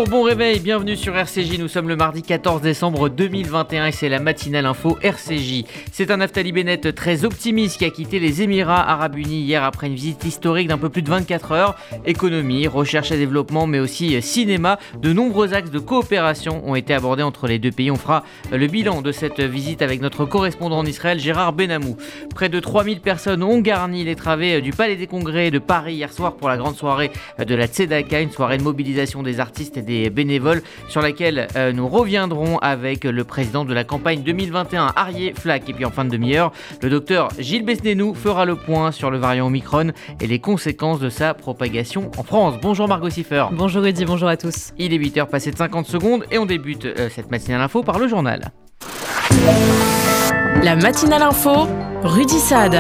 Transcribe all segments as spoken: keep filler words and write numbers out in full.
Bonjour, bon réveil, bienvenue sur R C J. Nous sommes le mardi quatorze décembre deux mille vingt et un et c'est la matinale info R C J. C'est un Naftali Bennett très optimiste qui a quitté les Émirats Arabes Unis hier après une visite historique d'un peu plus de vingt-quatre heures. Économie, recherche et développement, mais aussi cinéma. De nombreux axes de coopération ont été abordés entre les deux pays. On fera le bilan de cette visite avec notre correspondant en Israël, Gérard Benamou. Près de trois mille personnes ont garni les travées du Palais des Congrès de Paris hier soir pour la grande soirée de la Tzedaka, une soirée de mobilisation des artistes et des bénévoles sur laquelle euh, nous reviendrons avec le président de la campagne deux mille vingt et un, Arié Flack. Et puis en fin de demi-heure, le docteur Gilles Besnénou fera le point sur le variant Omicron et les conséquences de sa propagation en France. Bonjour Margot Siffer. Bonjour Rudy, bonjour à tous. Il est huit heures passées de cinquante secondes et on débute euh, cette matinale info par le journal. La matinale info, Rudy Saad.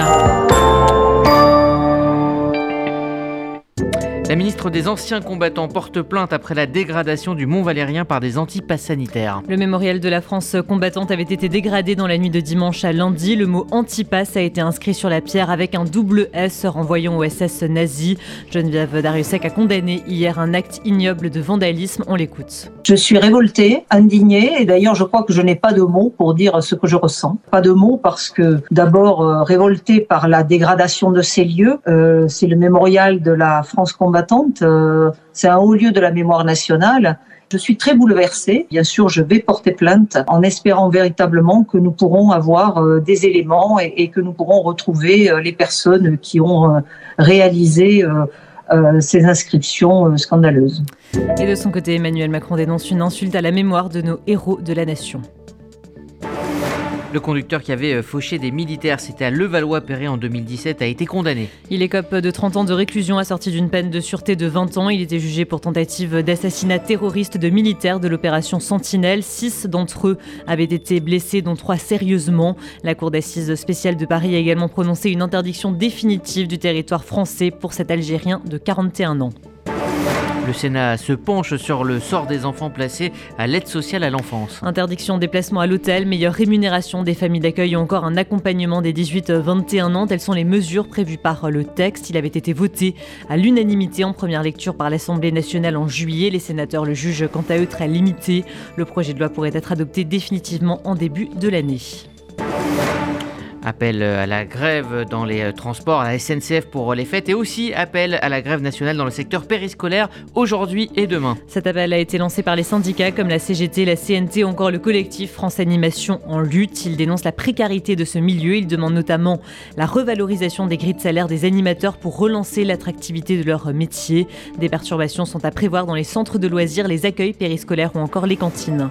La ministre des Anciens Combattants porte plainte après la dégradation du Mont Valérien par des anti-pass sanitaires. Le mémorial de la France combattante avait été dégradé dans la nuit de dimanche à lundi. Le mot anti-pass a été inscrit sur la pierre avec un double S renvoyant au S S nazi. Geneviève Darrieussecq a condamné hier un acte ignoble de vandalisme. On l'écoute. Je suis révoltée, indignée et d'ailleurs je crois que je n'ai pas de mots pour dire ce que je ressens. Pas de mots parce que d'abord euh, révoltée par la dégradation de ces lieux. Euh, c'est le mémorial de la France combattante. Euh, c'est un haut lieu de la mémoire nationale. Je suis très bouleversée. Bien sûr, je vais porter plainte en espérant véritablement que nous pourrons avoir euh, des éléments et, et que nous pourrons retrouver euh, les personnes qui ont euh, réalisé euh, euh, ces inscriptions euh, scandaleuses. Et de son côté, Emmanuel Macron dénonce une insulte à la mémoire de nos héros de la nation. Le conducteur qui avait fauché des militaires, c'était à Levallois-Perret en deux mille dix-sept, a été condamné. Il écope de trente ans de réclusion assorti d'une peine de sûreté de vingt ans. Il était jugé pour tentative d'assassinat terroriste de militaires de l'opération Sentinelle. Six d'entre eux avaient été blessés, dont trois sérieusement. La cour d'assises spéciale de Paris a également prononcé une interdiction définitive du territoire français pour cet Algérien de quarante et un ans. Le Sénat se penche sur le sort des enfants placés à l'aide sociale à l'enfance. Interdiction de déplacement à l'hôtel, meilleure rémunération des familles d'accueil ou encore un accompagnement des dix-huit à vingt et un ans. Telles sont les mesures prévues par le texte. Il avait été voté à l'unanimité en première lecture par l'Assemblée nationale en juillet. Les sénateurs le jugent quant à eux très limité. Le projet de loi pourrait être adopté définitivement en début de l'année. Appel à la grève dans les transports, à la S N C F pour les fêtes et aussi appel à la grève nationale dans le secteur périscolaire aujourd'hui et demain. Cet appel a été lancé par les syndicats comme la C G T, la C N T ou encore le collectif France Animation en lutte. Ils dénoncent la précarité de ce milieu. Ils demandent notamment la revalorisation des grilles de salaire des animateurs pour relancer l'attractivité de leur métier. Des perturbations sont à prévoir dans les centres de loisirs, les accueils périscolaires ou encore les cantines.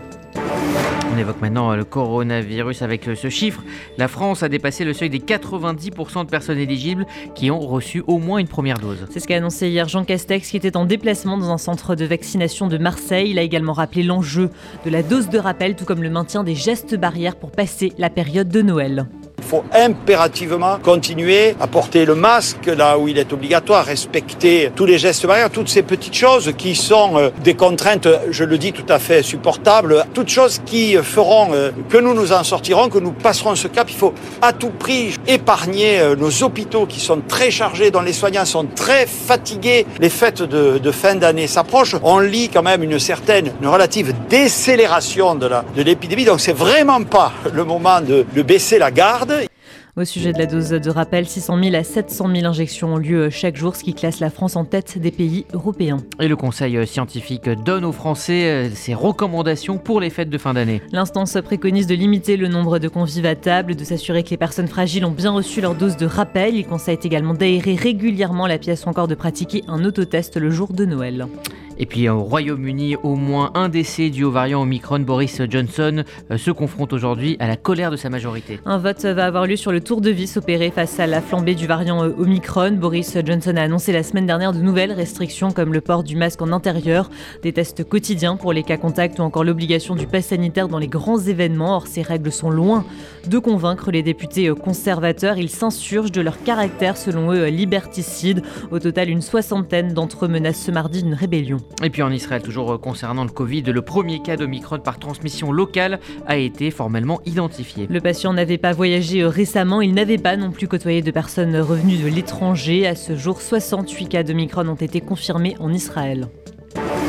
On évoque maintenant le coronavirus avec ce chiffre. La France a dépassé le seuil des quatre-vingt-dix pour cent de personnes éligibles qui ont reçu au moins une première dose. C'est ce qu'a annoncé hier Jean Castex qui était en déplacement dans un centre de vaccination de Marseille. Il a également rappelé l'enjeu de la dose de rappel, tout comme le maintien des gestes barrières pour passer la période de Noël. Il faut impérativement continuer à porter le masque là où il est obligatoire, respecter tous les gestes barrières, toutes ces petites choses qui sont euh, des contraintes, je le dis, tout à fait supportables, toutes choses qui feront euh, que nous nous en sortirons, que nous passerons ce cap. Il faut à tout prix épargner euh, nos hôpitaux qui sont très chargés, dont les soignants sont très fatigués. Les fêtes de, de fin d'année s'approchent. On lit quand même une certaine, une relative décélération de, la, de l'épidémie, donc c'est vraiment pas le moment de, de baisser la garde. Au sujet de la dose de rappel, six cent mille à sept cent mille injections ont lieu chaque jour, ce qui classe la France en tête des pays européens. Et le Conseil scientifique donne aux Français ses recommandations pour les fêtes de fin d'année. L'instance préconise de limiter le nombre de convives à table, de s'assurer que les personnes fragiles ont bien reçu leur dose de rappel. Il conseille également d'aérer régulièrement la pièce ou encore de pratiquer un autotest le jour de Noël. Et puis au Royaume-Uni, au moins un décès dû au variant Omicron. Boris Johnson euh, se confronte aujourd'hui à la colère de sa majorité. Un vote va avoir lieu sur le tour de vis opéré face à la flambée du variant Omicron. Boris Johnson a annoncé la semaine dernière de nouvelles restrictions comme le port du masque en intérieur, des tests quotidiens pour les cas contacts ou encore l'obligation du pass sanitaire dans les grands événements. Or, ces règles sont loin de convaincre les députés conservateurs. Ils s'insurgent de leur caractère, selon eux, liberticide. Au total, une soixantaine d'entre eux menacent ce mardi d'une rébellion. Et puis en Israël, toujours concernant le Covid, le premier cas d'Omicron par transmission locale a été formellement identifié. Le patient n'avait pas voyagé récemment, il n'avait pas non plus côtoyé de personnes revenues de l'étranger. À ce jour, soixante-huit cas d'Omicron ont été confirmés en Israël.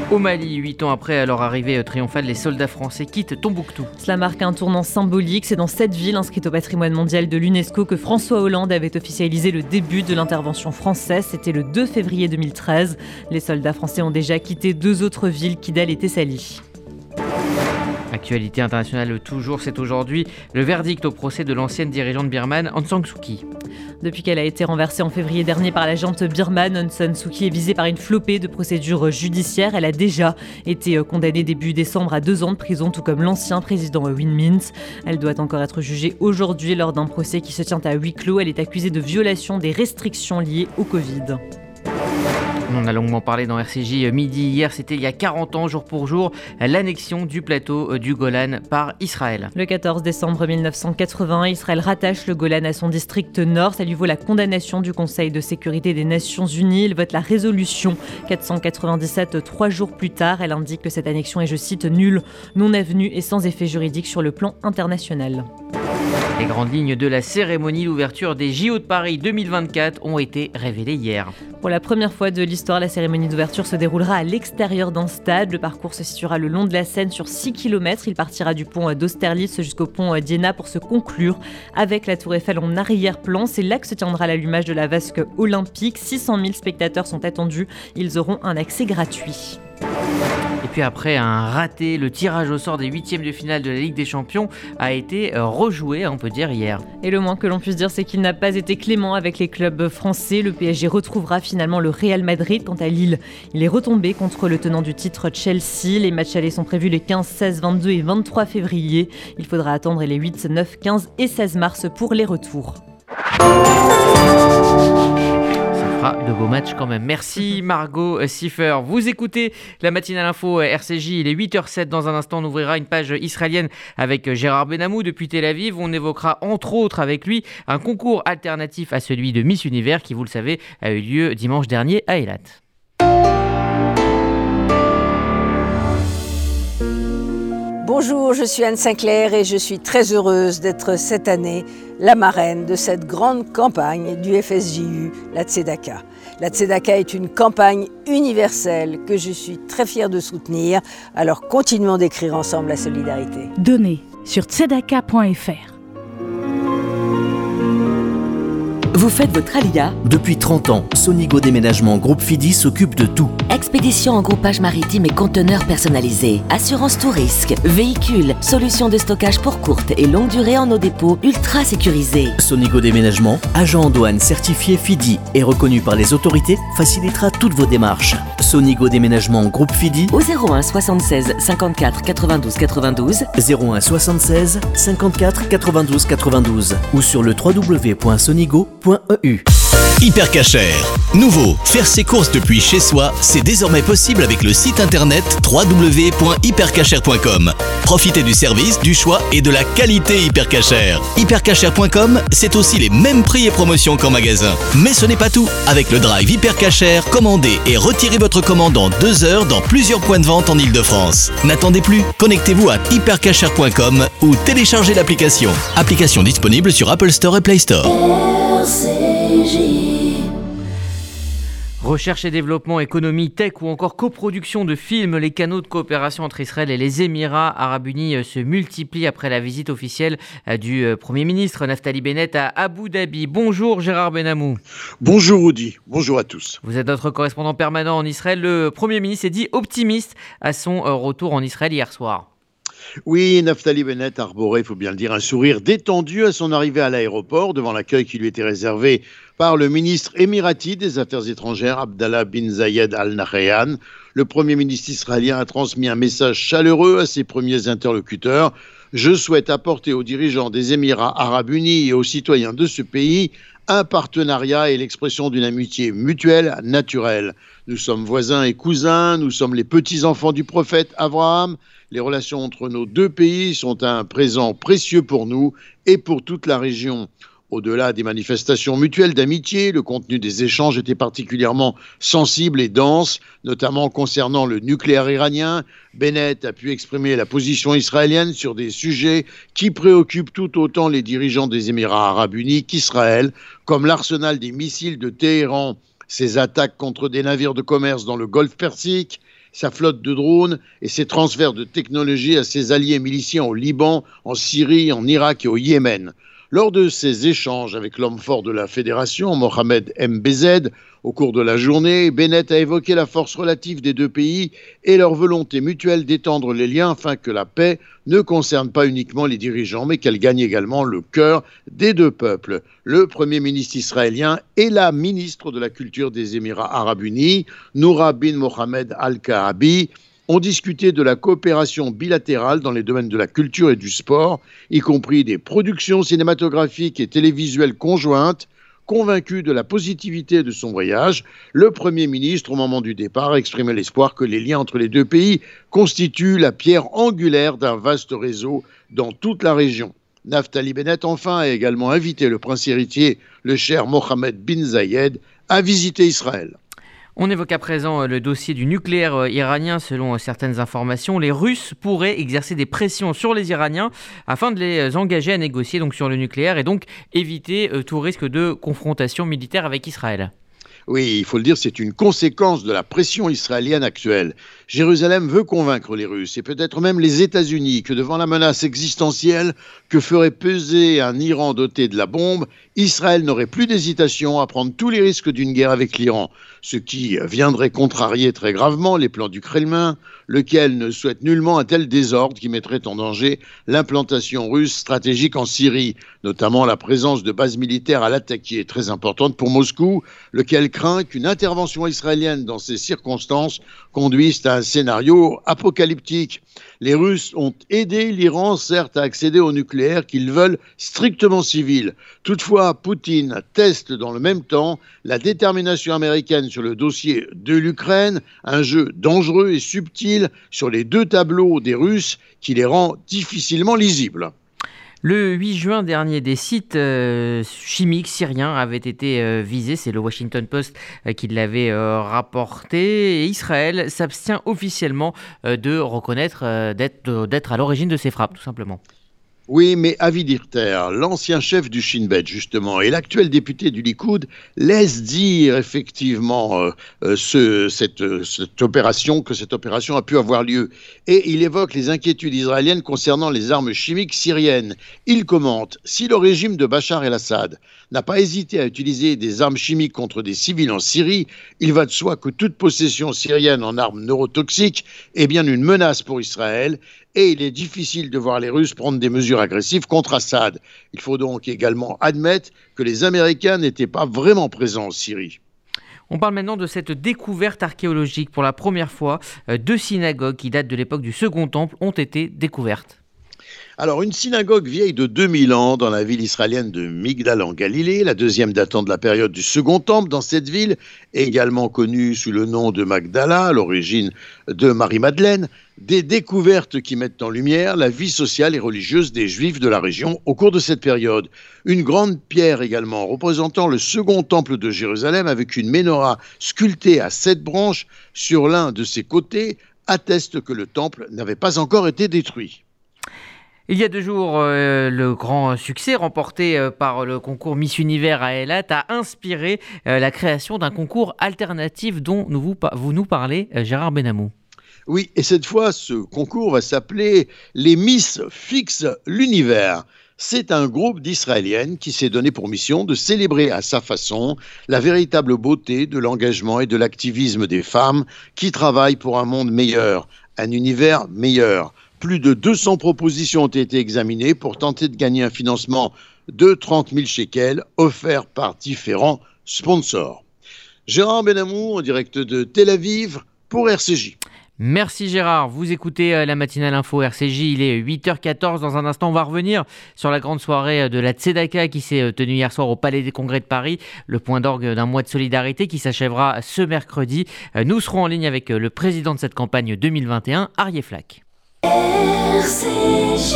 Au Mali, huit ans après leur arrivée triomphale, les soldats français quittent Tombouctou. Cela marque un tournant symbolique. C'est dans cette ville inscrite au patrimoine mondial de l'UNESCO que François Hollande avait officialisé le début de l'intervention française. C'était le deux février deux mille treize. Les soldats français ont déjà quitté deux autres villes, Kidal et Thessalie. Actualité internationale toujours, c'est aujourd'hui le verdict au procès de l'ancienne dirigeante birmane Aung San Suu Kyi. Depuis qu'elle a été renversée en février dernier par la junte birmane, Aung San Suu Kyi est visée par une flopée de procédures judiciaires. Elle a déjà été condamnée début décembre à deux ans de prison, tout comme l'ancien président Win Myint. Elle doit encore être jugée aujourd'hui lors d'un procès qui se tient à huis clos. Elle est accusée de violation des restrictions liées au Covid. On a longuement parlé dans R C J Midi hier, c'était il y a quarante ans, jour pour jour, l'annexion du plateau du Golan par Israël. Le quatorze décembre mille neuf cent quatre-vingt-un, Israël rattache le Golan à son district nord. Ça lui vaut la condamnation du Conseil de sécurité des Nations Unies. Il vote la résolution quatre cent quatre-vingt-dix-sept trois jours plus tard. Elle indique que cette annexion est, je cite, nulle, non avenue et sans effet juridique sur le plan international. Les grandes lignes de la cérémonie d'ouverture des J O de Paris deux mille vingt-quatre ont été révélées hier. Pour la première fois de l'histoire, la cérémonie d'ouverture se déroulera à l'extérieur d'un stade. Le parcours se situera le long de la Seine sur six kilomètres. Il partira du pont d'Austerlitz jusqu'au pont d'Iéna pour se conclure avec la Tour Eiffel en arrière-plan. C'est là que se tiendra l'allumage de la vasque olympique. six cent mille spectateurs sont attendus. Ils auront un accès gratuit. Et puis après un raté, le tirage au sort des huitièmes de finale de la Ligue des Champions a été rejoué, on peut dire, hier. Et le moins que l'on puisse dire, c'est qu'il n'a pas été clément avec les clubs français. Le P S G retrouvera finalement le Real Madrid. Quant à Lille, il est retombé contre le tenant du titre Chelsea. Les matchs allés sont prévus les quinze, seize, vingt-deux et vingt-trois février. Il faudra attendre les huit, neuf, quinze et seize mars pour les retours. De beaux matchs quand même. Merci Margot Siffer. Vous écoutez la matinale info R C J, il est huit heures zéro sept. Dans un instant, on ouvrira une page israélienne avec Gérard Benamou depuis Tel Aviv. On évoquera entre autres avec lui un concours alternatif à celui de Miss Univers qui, vous le savez, a eu lieu dimanche dernier à Eilat. Bonjour, je suis Anne Sinclair et je suis très heureuse d'être cette année la marraine de cette grande campagne du F S J U, la Tzedaka. La Tzedaka est une campagne universelle que je suis très fière de soutenir, alors continuons d'écrire ensemble la solidarité. Donnez sur tzedaka point f r. Vous faites votre alia? Depuis trente ans, Sonigo Déménagement Groupe Fidi s'occupe de tout. Expédition en groupage maritime et conteneurs personnalisés, assurance tout risque, véhicules, solutions de stockage pour courte et longue durée en nos dépôts ultra sécurisés. Sonigo Déménagement, agent en douane certifié Fidi et reconnu par les autorités, facilitera toutes vos démarches. Sonigo Déménagement Groupe Fidi au zéro un soixante-seize cinquante-quatre quatre-vingt-douze quatre-vingt-douze, zéro un soixante-seize cinquante-quatre quatre-vingt-douze quatre-vingt-douze ou sur le w w w point sonigo point e u. Hypercacher. Nouveau, faire ses courses depuis chez soi, c'est désormais possible avec le site internet w w w point hypercacher point com. Profitez du service, du choix et de la qualité Hypercacher. hypercacher point com, c'est aussi les mêmes prix et promotions qu'en magasin. Mais ce n'est pas tout. Avec le drive Hypercacher, commandez et retirez votre commande en deux heures dans plusieurs points de vente en Ile-de-France. N'attendez plus, connectez-vous à hypercacher point com ou téléchargez l'application. Application disponible sur Apple Store et Play Store. R C J. Recherche et développement, économie, tech ou encore coproduction de films, les canaux de coopération entre Israël et les Émirats Arabes Unis se multiplient après la visite officielle du Premier ministre Naftali Bennett à Abu Dhabi. Bonjour Gérard Benamou. Bonjour Audi, bonjour à tous. Vous êtes notre correspondant permanent en Israël. Le Premier ministre s'est dit optimiste à son retour en Israël hier soir. Oui, Naftali Bennett arborait, il faut bien le dire, un sourire détendu à son arrivée à l'aéroport devant l'accueil qui lui était réservé par le ministre émirati des Affaires étrangères, Abdallah bin Zayed Al Nahyan. Le Premier ministre israélien a transmis un message chaleureux à ses premiers interlocuteurs. Je souhaite apporter aux dirigeants des Émirats Arabes Unis et aux citoyens de ce pays un partenariat et l'expression d'une amitié mutuelle, naturelle. Nous sommes voisins et cousins, nous sommes les petits-enfants du prophète Abraham. Les relations entre nos deux pays sont un présent précieux pour nous et pour toute la région. Au-delà des manifestations mutuelles d'amitié, le contenu des échanges était particulièrement sensible et dense, notamment concernant le nucléaire iranien. Bennett a pu exprimer la position israélienne sur des sujets qui préoccupent tout autant les dirigeants des Émirats Arabes Unis qu'Israël, comme l'arsenal des missiles de Téhéran, ses attaques contre des navires de commerce dans le Golfe Persique, sa flotte de drones et ses transferts de technologies à ses alliés miliciens au Liban, en Syrie, en Irak et au Yémen. Lors de ces échanges avec l'homme fort de la fédération, Mohamed M B Z, au cours de la journée, Bennett a évoqué la force relative des deux pays et leur volonté mutuelle d'étendre les liens afin que la paix ne concerne pas uniquement les dirigeants, mais qu'elle gagne également le cœur des deux peuples. Le Premier ministre israélien et la ministre de la Culture des Émirats arabes unis, Noura bin Mohamed Al-Kaabi, ont discuté de la coopération bilatérale dans les domaines de la culture et du sport, y compris des productions cinématographiques et télévisuelles conjointes. Convaincu de la positivité de son voyage, le Premier ministre, au moment du départ, a exprimé l'espoir que les liens entre les deux pays constituent la pierre angulaire d'un vaste réseau dans toute la région. Naftali Bennett, enfin, a également invité le prince héritier, le cheikh Mohammed bin Zayed, à visiter Israël. On évoque à présent le dossier du nucléaire iranien. Selon certaines informations, les Russes pourraient exercer des pressions sur les Iraniens afin de les engager à négocier donc sur le nucléaire et donc éviter tout risque de confrontation militaire avec Israël. Oui, il faut le dire, c'est une conséquence de la pression israélienne actuelle. Jérusalem veut convaincre les Russes et peut-être même les États-Unis que devant la menace existentielle que ferait peser un Iran doté de la bombe, Israël n'aurait plus d'hésitation à prendre tous les risques d'une guerre avec l'Iran, ce qui viendrait contrarier très gravement les plans du Kremlin, lequel ne souhaite nullement un tel désordre qui mettrait en danger l'implantation russe stratégique en Syrie, notamment la présence de bases militaires à l'attaque qui est très importante pour Moscou, lequel craint qu'une intervention israélienne dans ces circonstances conduise à un scénario apocalyptique. Les Russes ont aidé l'Iran, certes, à accéder au nucléaire qu'ils veulent strictement civil. Toutefois, Poutine teste dans le même temps la détermination américaine sur le dossier de l'Ukraine, un jeu dangereux et subtil sur les deux tableaux des Russes qui les rend difficilement lisibles. Le huit juin dernier, des sites euh, chimiques syriens avaient été euh, visés. C'est le Washington Post euh, qui l'avait euh, rapporté. Et Israël s'abstient officiellement euh, de reconnaître euh, d'être, d'être à l'origine de ces frappes, tout simplement. Oui, mais Avi Dichter, l'ancien chef du Shin Bet, justement, et l'actuel député du Likoud, laisse dire effectivement euh, euh, ce, cette, cette opération, que cette opération a pu avoir lieu. Et il évoque les inquiétudes israéliennes concernant les armes chimiques syriennes. Il commente « Si le régime de Bachar el-Assad n'a pas hésité à utiliser des armes chimiques contre des civils en Syrie, il va de soi que toute possession syrienne en armes neurotoxiques est bien une menace pour Israël. Et il est difficile de voir les Russes prendre des mesures agressives contre Assad. Il faut donc également admettre que les Américains n'étaient pas vraiment présents en Syrie. On parle maintenant de cette découverte archéologique. Pour la première fois, deux synagogues qui datent de l'époque du Second Temple ont été découvertes. Alors, une synagogue vieille de deux mille ans dans la ville israélienne de Migdal en Galilée, la deuxième datant de la période du Second Temple dans cette ville, également connue sous le nom de Magdala, à l'origine de Marie-Madeleine, des découvertes qui mettent en lumière la vie sociale et religieuse des Juifs de la région au cours de cette période. Une grande pierre également représentant le Second Temple de Jérusalem avec une menorah sculptée à sept branches sur l'un de ses côtés atteste que le temple n'avait pas encore été détruit. Il y a deux jours, euh, le grand succès remporté euh, par le concours Miss Univers à Eilat a inspiré euh, la création d'un concours alternatif dont nous vous, vous nous parlez, euh, Gérard Benamou. Oui, et cette fois, ce concours va s'appeler les Miss Fixent l'Univers. C'est un groupe d'Israéliennes qui s'est donné pour mission de célébrer à sa façon la véritable beauté de l'engagement et de l'activisme des femmes qui travaillent pour un monde meilleur, un univers meilleur. Plus de deux cents propositions ont été examinées pour tenter de gagner un financement de trente mille shekels offert par différents sponsors. Gérard Benamou, en direct de Tel Aviv pour R C J. Merci Gérard, vous écoutez la matinale info R C J, il est huit heures quatorze. Dans un instant, on va revenir sur la grande soirée de la Tzedaka qui s'est tenue hier soir au Palais des Congrès de Paris, le point d'orgue d'un mois de solidarité qui s'achèvera ce mercredi. Nous serons en ligne avec le président de cette campagne deux mille vingt et un, Aryeh Flack. R C J.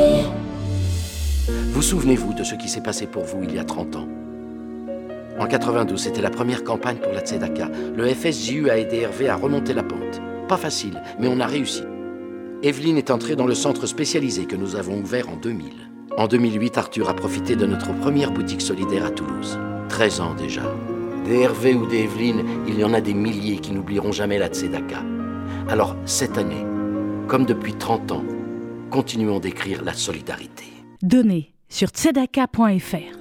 Vous souvenez-vous de ce qui s'est passé pour vous il y a trente ans? En quatre-vingt-douze, c'était la première campagne pour la Tzedaka. Le F S J U a aidé Hervé à remonter la pente. Pas facile, mais on a réussi. Evelyne est entrée dans le centre spécialisé que nous avons ouvert en deux mille. En deux mille huit, Arthur a profité de notre première boutique solidaire à Toulouse. treize ans déjà. Des Hervé ou des Evelyne, il y en a des milliers qui n'oublieront jamais la Tzedaka. Alors, cette année, comme depuis trente ans, continuons d'écrire la solidarité. Donnez sur tzedaka point f r.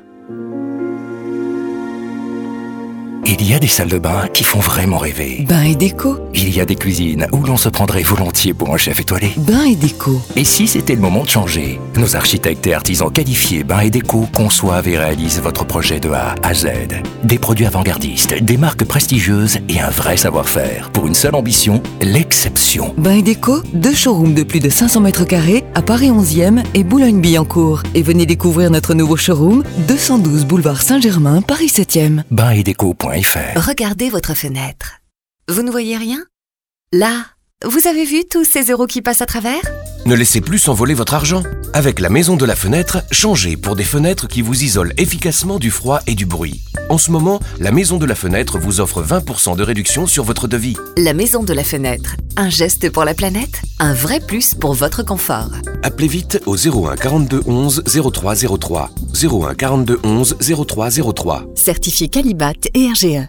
Il y a des salles de bain qui font vraiment rêver. Bain et déco. Il y a des cuisines où l'on se prendrait volontiers pour un chef étoilé. Bain et déco. Et si c'était le moment de changer? Nos architectes et artisans qualifiés Bain et déco conçoivent et réalisent votre projet de A à Z. Des produits avant-gardistes, des marques prestigieuses et un vrai savoir-faire. Pour une seule ambition, l'exception. Bain et déco, deux showrooms de plus de cinq cents mètres carrés à Paris onzième et Boulogne-Billancourt. Et venez découvrir notre nouveau showroom, deux cent douze boulevard Saint-Germain, Paris septième. bain et déco point f r. Regardez votre fenêtre. Vous ne voyez rien? Là, vous avez vu tous ces euros qui passent à travers? Ne laissez plus s'envoler votre argent. Avec la Maison de la Fenêtre, changez pour des fenêtres qui vous isolent efficacement du froid et du bruit. En ce moment, la Maison de la Fenêtre vous offre vingt pour cent de réduction sur votre devis. La Maison de la Fenêtre. Un geste pour la planète, un vrai plus pour votre confort. Appelez vite au zéro un quarante-deux onze zéro trois zéro trois. zéro un quarante-deux onze zéro trois zéro trois. Certifié Qualibat et R G E.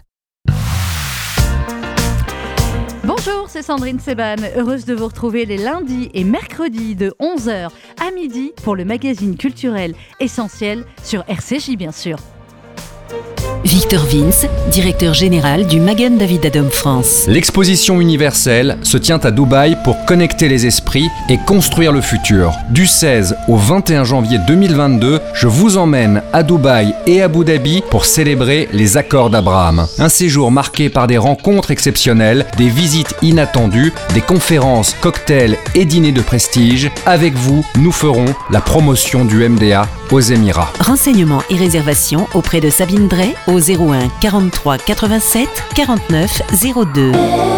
Bonjour, c'est Sandrine Seban, heureuse de vous retrouver les lundis et mercredis de onze heures à midi pour le magazine culturel Essentiel sur R C J bien sûr. Victor Vince, directeur général du Magen David Adom France. L'exposition universelle se tient à Dubaï pour connecter les esprits et construire le futur. Du seize au vingt et un janvier deux mille vingt-deux, je vous emmène à Dubaï et à Abu Dhabi pour célébrer les accords d'Abraham. Un séjour marqué par des rencontres exceptionnelles, des visites inattendues, des conférences, cocktails et dîners de prestige. Avec vous, nous ferons la promotion du M D A aux Émirats. Renseignements et réservations auprès de Sabine Drey au zéro un quarante-trois quatre-vingt-sept quarante-neuf zéro deux.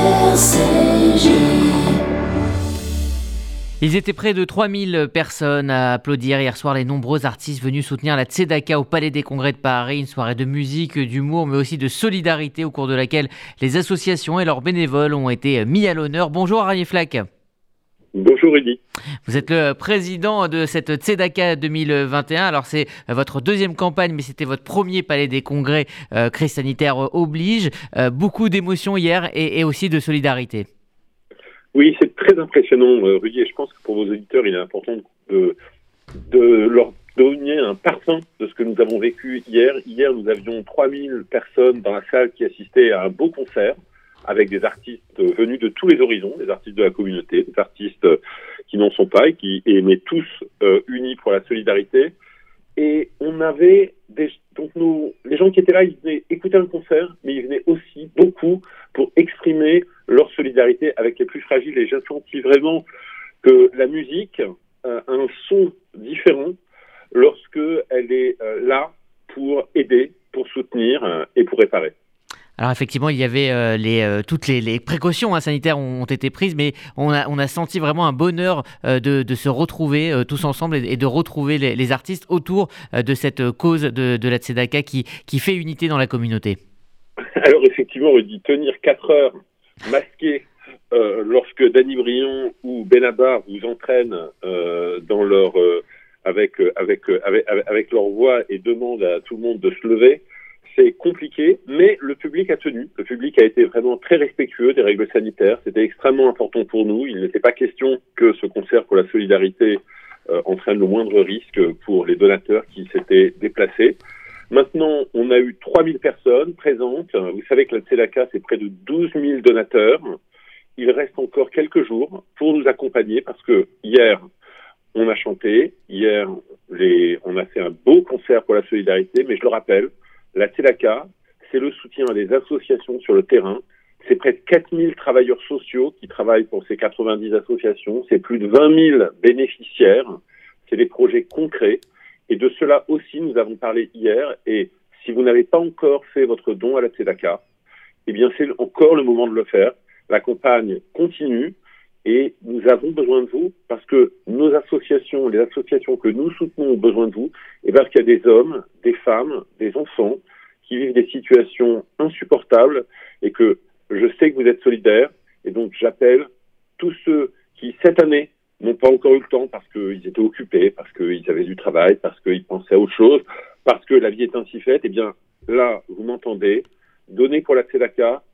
Ils étaient près de trois mille personnes à applaudir hier soir les nombreux artistes venus soutenir la Tzedaka au Palais des Congrès de Paris. Une soirée de musique, d'humour, mais aussi de solidarité au cours de laquelle les associations et leurs bénévoles ont été mis à l'honneur. Bonjour Arié Flack. Bonjour Rudy. Vous êtes le président de cette Tzedaka deux mille vingt et un. Alors c'est votre deuxième campagne, mais c'était votre premier Palais des Congrès, euh, crise sanitaire oblige. Euh, beaucoup d'émotions hier et, et aussi de solidarité. Oui, c'est très impressionnant euh, Rudy, et je pense que pour vos auditeurs, il est important de, de leur donner un parfum de ce que nous avons vécu hier. Hier, nous avions trois mille personnes dans la salle qui assistaient à un beau concert, avec des artistes venus de tous les horizons, des artistes de la communauté, des artistes qui n'en sont pas et qui aimaient tous euh, unis pour la solidarité. Et on avait des, donc nous, les gens qui étaient là, ils venaient écouter un concert, mais ils venaient aussi beaucoup pour exprimer leur solidarité avec les plus fragiles. Et j'ai senti vraiment que la musique euh, a un son différent lorsque elle est euh, là pour aider, pour soutenir euh, et pour réparer. Alors effectivement, il y avait euh, les, euh, toutes les, les précautions hein, sanitaires ont, ont été prises, mais on a, on a senti vraiment un bonheur euh, de, de se retrouver euh, tous ensemble et, et de retrouver les, les artistes autour euh, de cette cause de, de la Tzedaka qui, qui fait unité dans la communauté. Alors effectivement, Rudy, tenir quatre heures masqué euh, lorsque Danny Briand ou Benabar vous entraînent euh, dans leur, euh, avec, avec, avec, avec leur voix et demandent à tout le monde de se lever, c'est compliqué, mais le public a tenu. Le public a été vraiment très respectueux des règles sanitaires. C'était extrêmement important pour nous. Il n'était pas question que ce concert pour la solidarité euh, entraîne le moindre risque pour les donateurs qui s'étaient déplacés. Maintenant, on a eu trois mille personnes présentes. Vous savez que la Tzedaka, c'est près de douze mille donateurs. Il reste encore quelques jours pour nous accompagner parce que hier, on a chanté. Hier, les, on a fait un beau concert pour la solidarité, mais je le rappelle, la Tzedaka, c'est le soutien à des associations sur le terrain. C'est près de quatre mille travailleurs sociaux qui travaillent pour ces quatre-vingt-dix associations. C'est plus de vingt mille bénéficiaires. C'est des projets concrets. Et de cela aussi, nous avons parlé hier. Et si vous n'avez pas encore fait votre don à la Tzedaka, eh bien, c'est encore le moment de le faire. La campagne continue et nous avons besoin de vous parce que nos associations, les associations que nous soutenons ont besoin de vous et parce qu'il y a des hommes, des femmes, des enfants qui vivent des situations insupportables et que je sais que vous êtes solidaires et donc j'appelle tous ceux qui, cette année, n'ont pas encore eu le temps parce qu'ils étaient occupés, parce qu'ils avaient du travail, parce qu'ils pensaient à autre chose, parce que la vie est ainsi faite, eh bien là, vous m'entendez, donnez pour la Tzedaka,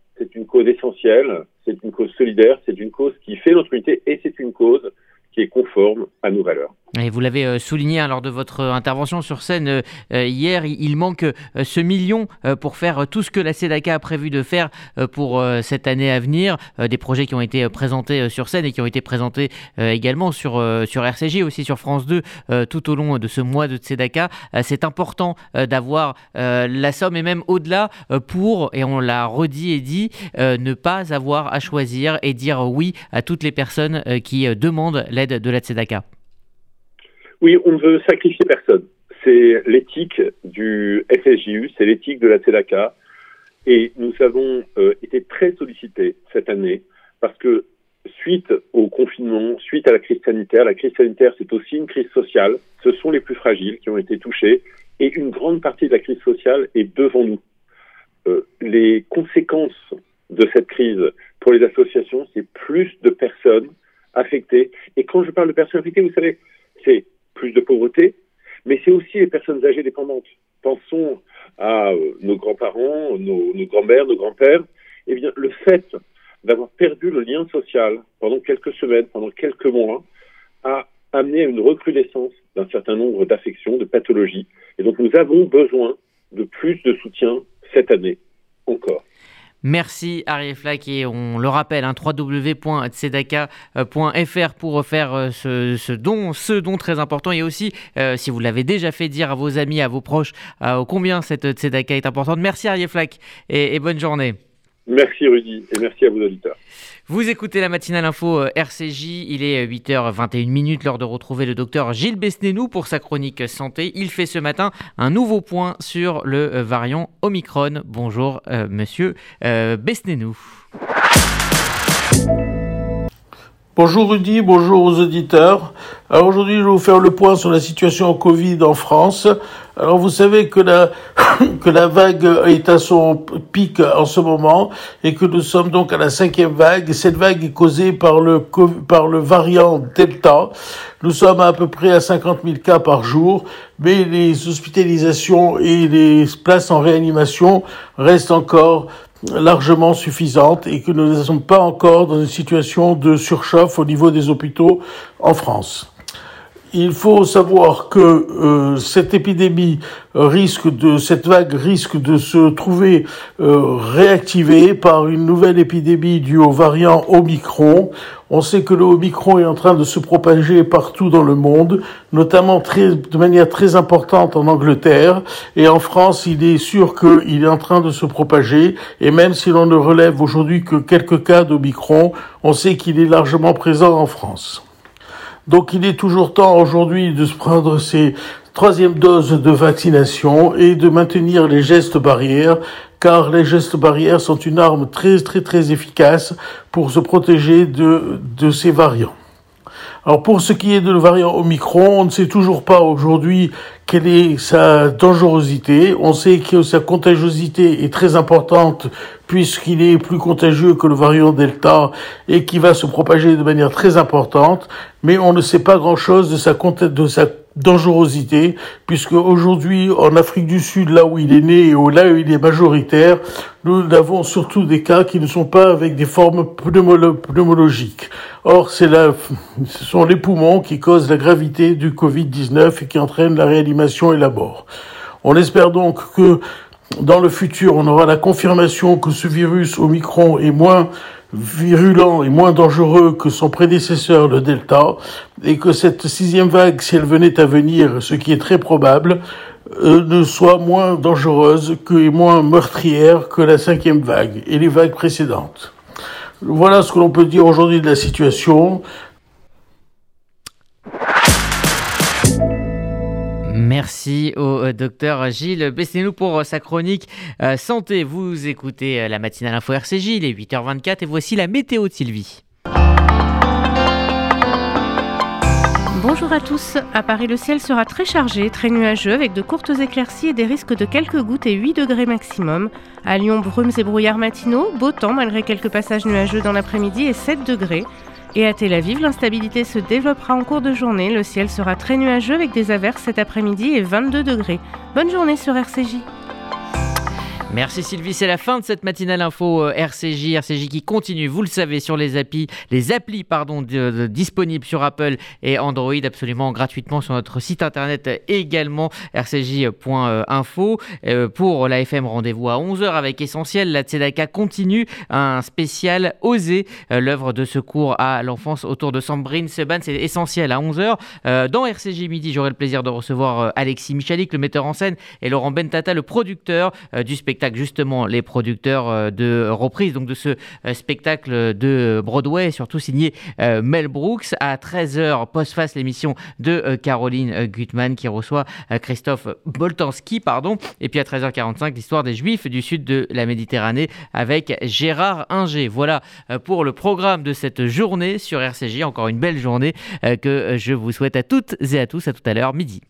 c'est une cause essentielle, c'est une cause solidaire, c'est une cause qui fait notre unité et c'est une cause qui est conforme à nos valeurs. Et vous l'avez euh, souligné hein, lors de votre intervention sur scène euh, euh, hier, il, il manque euh, ce million euh, pour faire euh, tout ce que la Tzedaka a prévu de faire euh, pour euh, cette année à venir. Euh, des projets qui ont été euh, présentés euh, sur scène et qui ont été présentés euh, également sur, euh, sur R C J, aussi sur France deux, euh, tout au long de ce mois de Tzedaka. Euh, c'est important euh, d'avoir euh, la somme et même au-delà euh, pour, et on l'a redit et dit, euh, ne pas avoir à choisir et dire oui à toutes les personnes euh, qui euh, demandent l'aide de la Tzedaka. Oui, on ne veut sacrifier personne. C'est l'éthique du F S J U, c'est l'éthique de la Tzedaka. Et nous avons euh, été très sollicités cette année parce que suite au confinement, suite à la crise sanitaire, la crise sanitaire c'est aussi une crise sociale. Ce sont les plus fragiles qui ont été touchés et une grande partie de la crise sociale est devant nous. Euh, les conséquences de cette crise pour les associations, c'est plus de personnes affectées. Et quand je parle de personnes affectées, vous savez, c'est plus de pauvreté, mais c'est aussi les personnes âgées dépendantes. Pensons à euh, nos grands-parents, nos, nos grands-mères, nos grands-pères. Eh bien, le fait d'avoir perdu le lien social pendant quelques semaines, pendant quelques mois, a amené à une recrudescence d'un certain nombre d'affections, de pathologies. Et donc, nous avons besoin de plus de soutien cette année encore. Merci Ariel Flack et on le rappelle, hein, w w w point tzedaka point f r pour faire euh, ce, ce don, ce don très important et aussi euh, si vous l'avez déjà fait dire à vos amis, à vos proches, euh, combien cette Tzedaka est importante. Merci Ariel Flack et, et bonne journée. Merci Rudy et merci à vos auditeurs. Vous écoutez la matinale info R C J, il est huit heures vingt et une minutes, l'heure de retrouver le docteur Gilles Besnénou pour sa chronique santé. Il fait ce matin un nouveau point sur le variant Omicron. Bonjour euh, monsieur euh, Besnénou. Bonjour Rudy, bonjour aux auditeurs. Alors aujourd'hui, je vais vous faire le point sur la situation Covid en France. Alors vous savez que la que la vague est à son pic en ce moment et que nous sommes donc à la cinquième vague. Cette vague est causée par le par le variant Delta. Nous sommes à peu près à cinquante mille cas par jour, mais les hospitalisations et les places en réanimation restent encore largement suffisantes et que nous ne sommes pas encore dans une situation de surchauffe au niveau des hôpitaux en France. Il faut savoir que euh, cette épidémie risque de cette vague risque de se trouver euh, réactivée par une nouvelle épidémie due au variant Omicron. On sait que le Omicron est en train de se propager partout dans le monde, notamment très, de manière très importante en Angleterre. Et en France, il est sûr qu'il est en train de se propager. Et même si l'on ne relève aujourd'hui que quelques cas d'Omicron, on sait qu'il est largement présent en France. Donc il est toujours temps aujourd'hui de se prendre ces troisième doses de vaccination et de maintenir les gestes barrières, car les gestes barrières sont une arme très très très efficace pour se protéger de, de ces variants. Alors pour ce qui est de le variant Omicron, on ne sait toujours pas aujourd'hui quelle est sa dangerosité. On sait que sa contagiosité est très importante puisqu'il est plus contagieux que le variant Delta et qui va se propager de manière très importante, mais on ne sait pas grand-chose de sa de sa dangerosité, puisque aujourd'hui, en Afrique du Sud, là où il est né et là où il est majoritaire, nous avons surtout des cas qui ne sont pas avec des formes pneumolo- pneumologiques. Or, c'est la, ce sont les poumons qui causent la gravité du covid dix-neuf et qui entraînent la réanimation et la mort. On espère donc que dans le futur, on aura la confirmation que ce virus Omicron est moins virulent et moins dangereux que son prédécesseur, le Delta, et que cette sixième vague, si elle venait à venir, ce qui est très probable, euh, ne soit moins dangereuse que, et moins meurtrière que la cinquième vague et les vagues précédentes. Voilà ce que l'on peut dire aujourd'hui de la situation. Merci au euh, docteur Gilles Besnénou pour euh, sa chronique euh, santé. Vous écoutez euh, la matinale info R C J, il est huit heures vingt-quatre et voici la météo de Sylvie. Bonjour à tous. À Paris, le ciel sera très chargé, très nuageux, avec de courtes éclaircies et des risques de quelques gouttes et huit degrés maximum. À Lyon, brumes et brouillards matinaux, beau temps malgré quelques passages nuageux dans l'après-midi et sept degrés. Et à Tel Aviv, l'instabilité se développera en cours de journée. Le ciel sera très nuageux avec des averses cet après-midi et vingt-deux degrés. Bonne journée sur R C J. Merci Sylvie, c'est la fin de cette matinale info euh, R C J, R C J qui continue, vous le savez, sur les applis, les applis pardon, de, de, disponibles sur Apple et Android, absolument gratuitement sur notre site internet également, r c j point info. Euh, pour la F M, rendez-vous à onze heures avec Essentiel. La Tzedaka continue, un spécial Oser, euh, l'œuvre de secours à l'enfance autour de Sandrine Seban, c'est Essentiel à onze heures. Euh, dans R C J Midi, j'aurai le plaisir de recevoir euh, Alexis Michalik, le metteur en scène, et Laurent Bentata, le producteur euh, du spectacle. Justement, les producteurs de reprise donc de ce spectacle de Broadway, surtout signé Mel Brooks. À treize heures, post-face, l'émission de Caroline Gutmann qui reçoit Christophe Boltanski, pardon. Et puis à treize heures quarante-cinq, l'histoire des Juifs du sud de la Méditerranée avec Gérard Inger. Voilà pour le programme de cette journée sur R C J. Encore une belle journée que je vous souhaite à toutes et à tous. À tout à l'heure, midi.